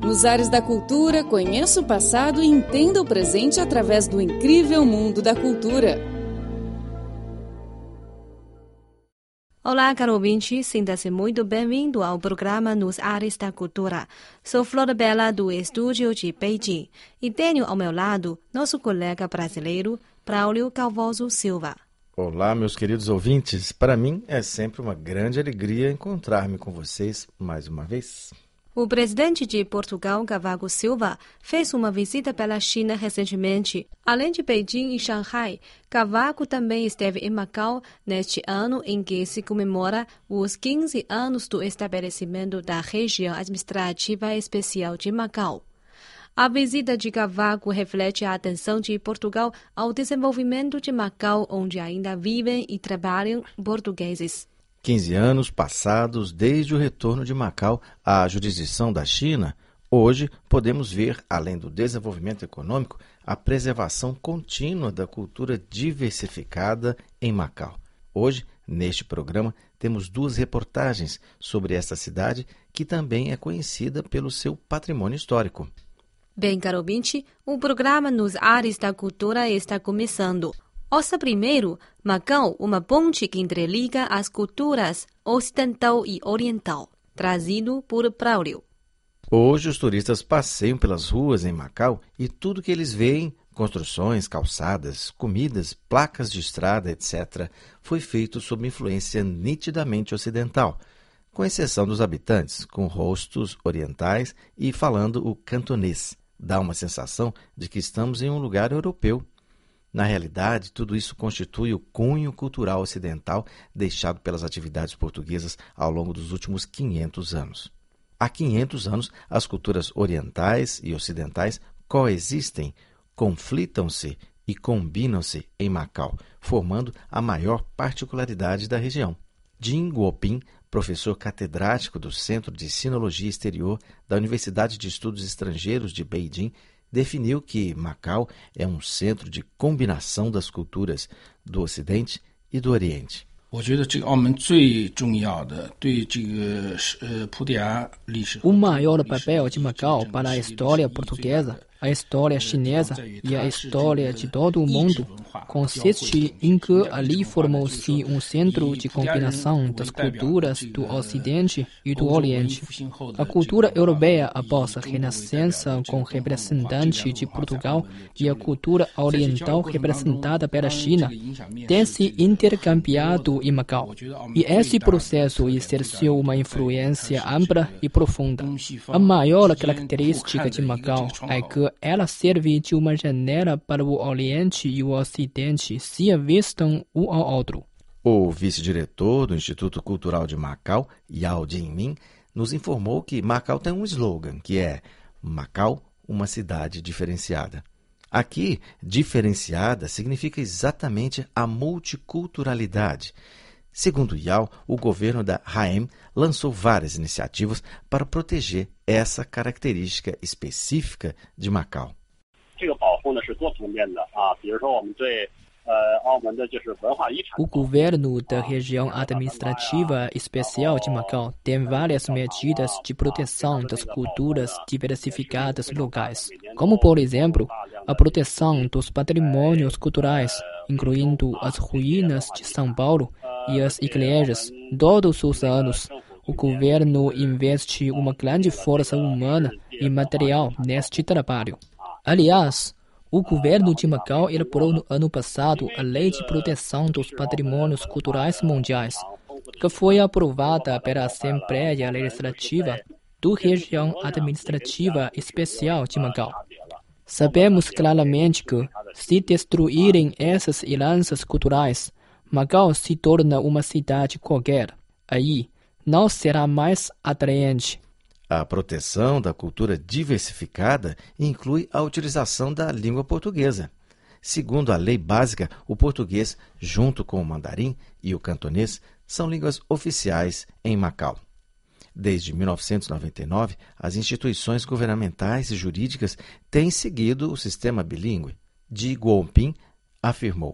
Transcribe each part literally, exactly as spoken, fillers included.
Nos ares da cultura, conheça o passado e entenda o presente através do incrível mundo da cultura. Olá, caro ouvinte, sinta-se muito bem-vindo ao programa Nos Ares da Cultura. Sou Flor Bela do estúdio de Beijing e tenho ao meu lado nosso colega brasileiro, Braulio Calvoso Silva. Olá, meus queridos ouvintes. Para mim é sempre uma grande alegria encontrar-me com vocês mais uma vez. O presidente de Portugal, Cavaco Silva, fez uma visita pela China recentemente. Além de Beijing e Xangai, Cavaco também esteve em Macau neste ano em que se comemora os quinze anos do estabelecimento da região administrativa especial de Macau. A visita de Cavaco reflete a atenção de Portugal ao desenvolvimento de Macau, onde ainda vivem e trabalham portugueses. quinze anos passados desde o retorno de Macau à jurisdição da China, hoje podemos ver, além do desenvolvimento econômico, a preservação contínua da cultura diversificada em Macau. Hoje, neste programa, temos duas reportagens sobre esta cidade que também é conhecida pelo seu patrimônio histórico. Bem, caro ouvinte, o programa Nos Ares da Cultura está começando. Ouça primeiro, Macau, uma ponte que interliga as culturas ocidental e oriental, trazido por Braulio. Hoje os turistas passeiam pelas ruas em Macau e tudo que eles veem, construções, calçadas, comidas, placas de estrada, etcétera, foi feito sob influência nitidamente ocidental, com exceção dos habitantes, com rostos orientais e falando o cantonês. Dá uma sensação de que estamos em um lugar europeu. Na realidade, tudo isso constitui o cunho cultural ocidental deixado pelas atividades portuguesas ao longo dos últimos quinhentos anos. Há quinhentos anos, as culturas orientais e ocidentais coexistem, conflitam-se e combinam-se em Macau, formando a maior particularidade da região. Jin Guoping, professor catedrático do Centro de Sinologia Exterior da Universidade de Estudos Estrangeiros de Beijing, definiu que Macau é um centro de combinação das culturas do Ocidente e do Oriente. O maior papel de Macau para a história portuguesa, a história chinesa e a história de todo o mundo consiste em que ali formou-se um centro de combinação das culturas do Ocidente e do Oriente. A cultura europeia após a Renascença com representante de Portugal e a cultura oriental representada pela China tem se intercambiado em Macau. E esse processo exerceu uma influência ampla e profunda. A maior característica de Macau é que ela serve de uma janela para o Oriente e o Ocidente se avistam um ao outro. O vice-diretor do Instituto Cultural de Macau, Yao Jinmin, nos informou que Macau tem um slogan, que é Macau, uma cidade diferenciada. Aqui, diferenciada significa exatamente a multiculturalidade. Segundo Yao, o governo da R A E M lançou várias iniciativas para proteger essa característica específica de Macau. O governo da região administrativa especial de Macau tem várias medidas de proteção das culturas diversificadas locais, como, por exemplo, a proteção dos patrimônios culturais, incluindo as ruínas de São Paulo e as igrejas. Todos os anos, o governo investe uma grande força humana e material neste trabalho. Aliás, o governo de Macau elaborou no ano passado a Lei de Proteção dos Patrimônios Culturais Mundiais, que foi aprovada pela Assembleia Legislativa da Região Administrativa Especial de Macau. Sabemos claramente que, se destruírem essas heranças culturais, Macau se torna uma cidade qualquer. Aí, não será mais atraente. A proteção da cultura diversificada inclui a utilização da língua portuguesa. Segundo a lei básica, o português, junto com o mandarim e o cantonês, são línguas oficiais em Macau. Desde mil novecentos e noventa e nove, as instituições governamentais e jurídicas têm seguido o sistema bilíngue. Ji Guoping afirmou: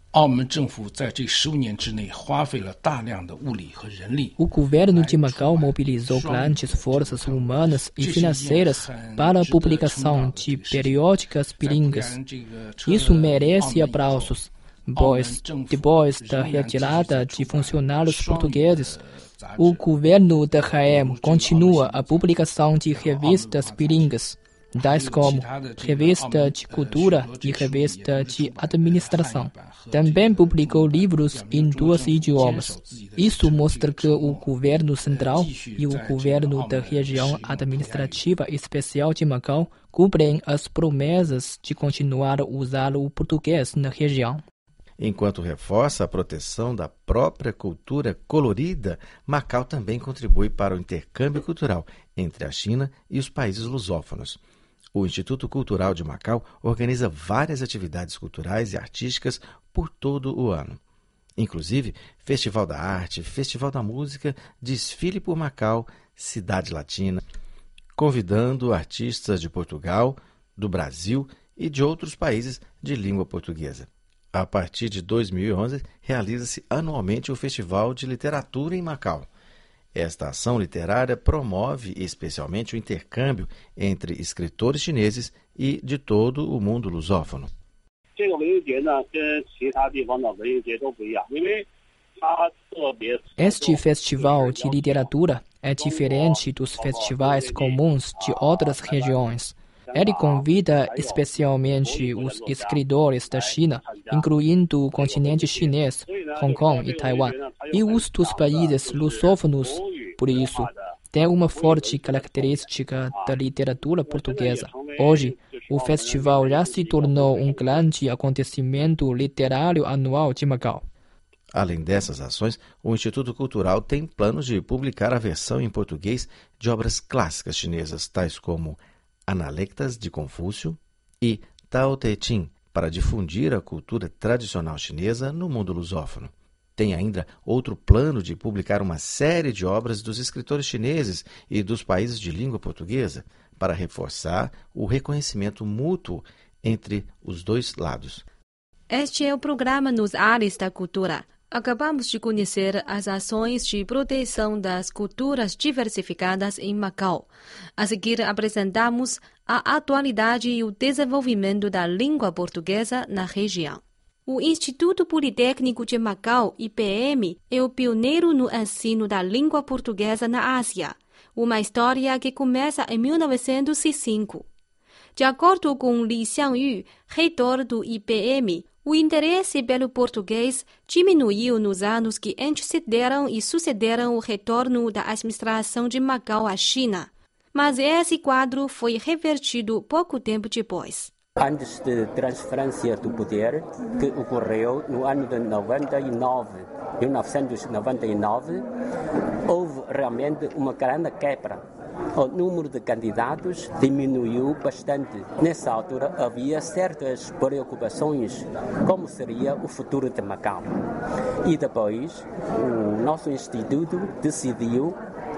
O governo de Macau mobilizou grandes forças humanas e financeiras para a publicação de periódicas bilíngues. Isso merece aplausos, pois, depois da retirada de funcionários portugueses, o governo da R A M continua a publicação de revistas bilíngues, tais como Revista de Cultura e Revista de Administração. Também publicou livros em dois idiomas. Isso mostra que o governo central e o governo da região administrativa especial de Macau cumprem as promessas de continuar a usar o português na região. Enquanto reforça a proteção da própria cultura colorida, Macau também contribui para o intercâmbio cultural entre a China e os países lusófonos. O Instituto Cultural de Macau organiza várias atividades culturais e artísticas por todo o ano. Inclusive, Festival da Arte, Festival da Música, Desfile por Macau, Cidade Latina, convidando artistas de Portugal, do Brasil e de outros países de língua portuguesa. A partir de dois mil e onze, realiza-se anualmente o Festival de Literatura em Macau. Esta ação literária promove especialmente o intercâmbio entre escritores chineses e de todo o mundo lusófono. Este festival de literatura é diferente dos festivais comuns de outras regiões. Ele convida especialmente os escritores da China, incluindo o continente chinês, Hong Kong e Taiwan, e os dos países lusófonos. Por isso, tem uma forte característica da literatura portuguesa. Hoje, o festival já se tornou um grande acontecimento literário anual de Macau. Além dessas ações, o Instituto Cultural tem planos de publicar a versão em português de obras clássicas chinesas, tais como Analectas de Confúcio e Tao Te Ching, para difundir a cultura tradicional chinesa no mundo lusófono. Tem ainda outro plano de publicar uma série de obras dos escritores chineses e dos países de língua portuguesa, para reforçar o reconhecimento mútuo entre os dois lados. Este é o programa Nos Ares da Cultura. Acabamos de conhecer as ações de proteção das culturas diversificadas em Macau. A seguir, apresentamos a atualidade e o desenvolvimento da língua portuguesa na região. O Instituto Politécnico de Macau, I P M, é o pioneiro no ensino da língua portuguesa na Ásia, uma história que começa em mil novecentos e cinco. De acordo com Li Xiangyu, reitor do I P M, o interesse pelo português diminuiu nos anos que antecederam e sucederam o retorno da administração de Macau à China. Mas esse quadro foi revertido pouco tempo depois. Antes da transferência do poder, que ocorreu no ano de noventa e nove, mil novecentos e noventa e nove, houve realmente uma grande quebra. O número de candidatos diminuiu bastante. Nessa altura havia certas preocupações, como seria o futuro de Macau. E depois o nosso instituto decidiu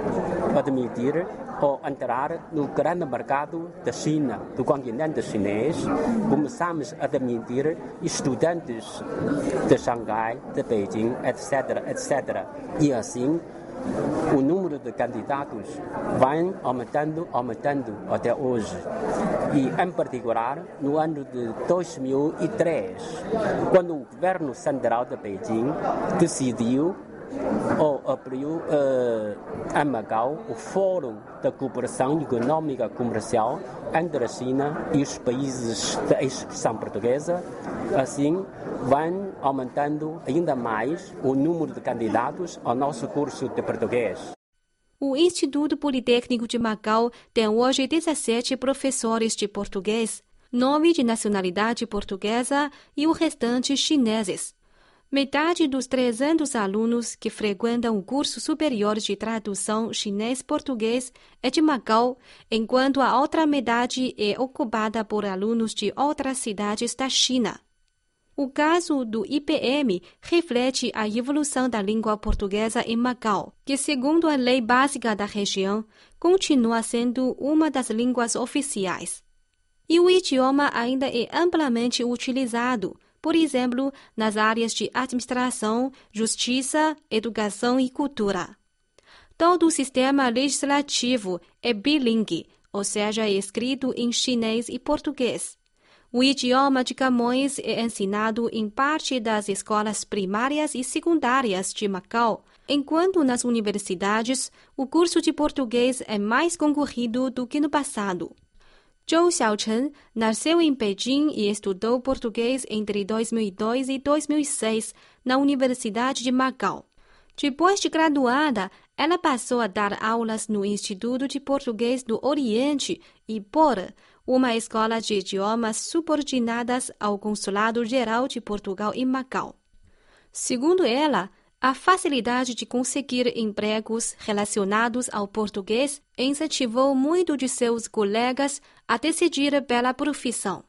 admitir ou entrar no grande mercado da China, do continente chinês. Começamos a admitir estudantes de Xangai, de Beijing, etc, etcétera. E assim, o número de candidatos vai aumentando, aumentando até hoje. E, em particular, no ano de dois mil e três, quando o governo central de Beijing decidiu ou abriu uh, em Macau o Fórum da Cooperação Econômica Comercial entre a China e os países da expressão portuguesa. Assim, vai aumentando ainda mais o número de candidatos ao nosso curso de português. O Instituto Politécnico de Macau tem hoje dezessete professores de português, nove de nacionalidade portuguesa e o restante chineses. Metade dos trezentos alunos que frequentam o curso superior de tradução chinês-português é de Macau, enquanto a outra metade é ocupada por alunos de outras cidades da China. O caso do I P M reflete a evolução da língua portuguesa em Macau, que, segundo a lei básica da região, continua sendo uma das línguas oficiais. E o idioma ainda é amplamente utilizado, por exemplo, nas áreas de administração, justiça, educação e cultura. Todo o sistema legislativo é bilingue, ou seja, é escrito em chinês e português. O idioma de Camões é ensinado em parte das escolas primárias e secundárias de Macau, enquanto nas universidades o curso de português é mais concorrido do que no passado. Zhou Xiaochen nasceu em Beijing e estudou português entre dois mil e dois e dois mil e seis na Universidade de Macau. Depois de graduada, ela passou a dar aulas no Instituto de Português do Oriente, I P O R, uma escola de idiomas subordinadas ao Consulado-Geral de Portugal em Macau. Segundo ela, a facilidade de conseguir empregos relacionados ao português incentivou muito de seus colegas a decidir pela profissão.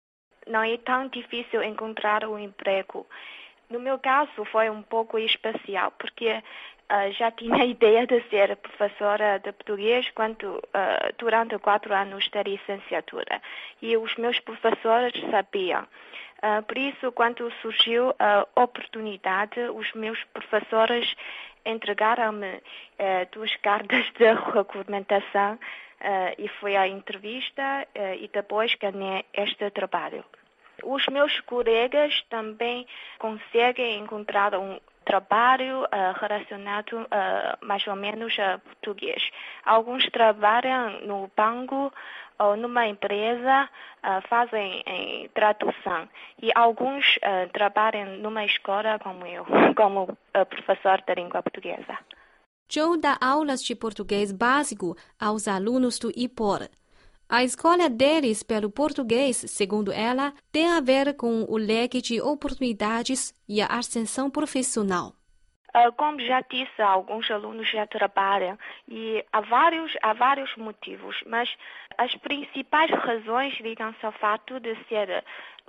Não é tão difícil encontrar um emprego. No meu caso, foi um pouco especial, porque Uh, já tinha a ideia de ser professora de português quando, uh, durante quatro anos da licenciatura. E os meus professores sabiam. Uh, por isso, quando surgiu a oportunidade, os meus professores entregaram-me uh, duas cartas de regulamentação uh, e foi à entrevista uh, e depois ganhei este trabalho. Os meus colegas também conseguem encontrar um trabalho uh, relacionado uh, mais ou menos a português. Alguns trabalham no banco ou numa empresa, uh, fazem em tradução. E alguns uh, trabalham numa escola como eu, como uh, professor de língua portuguesa. Zhou dá aulas de português básico aos alunos do I P O R. A escolha deles pelo português, segundo ela, tem a ver com o leque de oportunidades e a ascensão profissional. Uh, como já disse, alguns alunos já trabalham e há vários, há vários motivos, mas as principais razões ligam-se ao fato de ser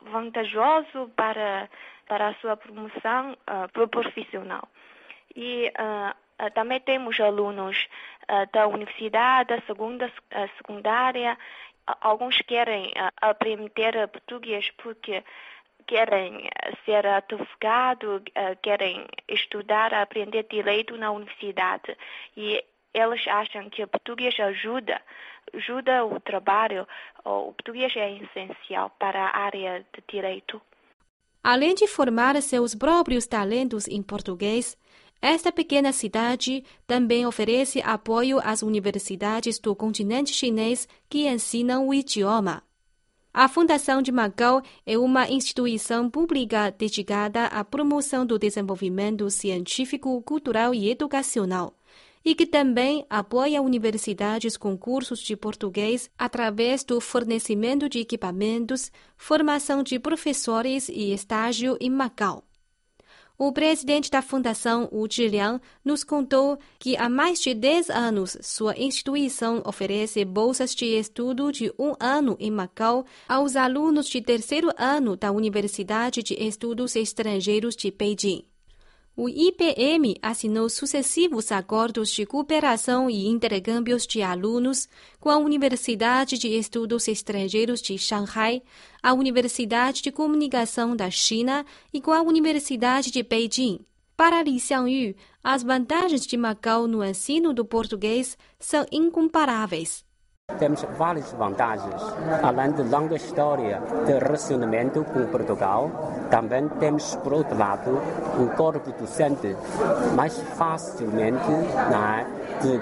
vantajoso para, para a sua promoção uh, profissional. E uh, Uh, também temos alunos uh, da universidade, da segunda, uh, secundária. Uh, alguns querem uh, aprender português porque querem ser advogado, uh, querem estudar, aprender direito na universidade. E eles acham que o português ajuda, ajuda o trabalho. O português é essencial para a área de direito. Além de formar seus próprios talentos em português, esta pequena cidade também oferece apoio às universidades do continente chinês que ensinam o idioma. A Fundação de Macau é uma instituição pública dedicada à promoção do desenvolvimento científico, cultural e educacional, e que também apoia universidades com cursos de português através do fornecimento de equipamentos, formação de professores e estágio em Macau. O presidente da Fundação, Wu Zhiliang, nos contou que há mais de dez anos sua instituição oferece bolsas de estudo de um ano em Macau aos alunos de terceiro ano da Universidade de Estudos Estrangeiros de Beijing. O I P M assinou sucessivos acordos de cooperação e intercâmbios de alunos com a Universidade de Estudos Estrangeiros de Shanghai, a Universidade de Comunicação da China e com a Universidade de Beijing. Para Li Xiangyu, as vantagens de Macau no ensino do português são incomparáveis. Temos várias vantagens, além de longa história de relacionamento com Portugal. Também temos, por outro lado, um corpo docente mais facilmente né, de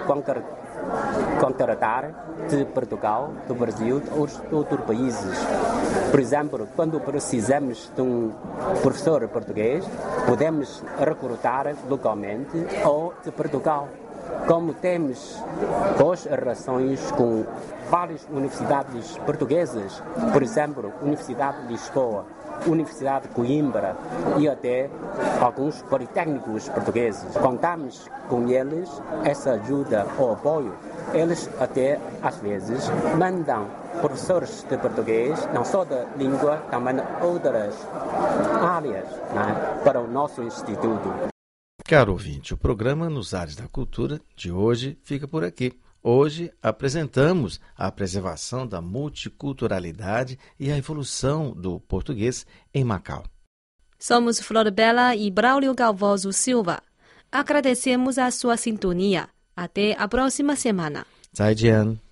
contratar de Portugal, do Brasil ou de outros países. Por exemplo, quando precisamos de um professor português, podemos recrutar localmente ou de Portugal. Como temos boas relações com várias universidades portuguesas, por exemplo, Universidade de Lisboa, Universidade de Coimbra e até alguns politécnicos portugueses. Contamos com eles essa ajuda ou apoio. Eles até, às vezes, mandam professores de português, não só da língua, também outras áreas, né, para o nosso instituto. Caro ouvinte, o programa Nos Ares da Cultura de hoje fica por aqui. Hoje apresentamos a preservação da multiculturalidade e a evolução do português em Macau. Somos Flor Bela e Braulio Galvoso Silva. Agradecemos a sua sintonia. Até a próxima semana. 再见。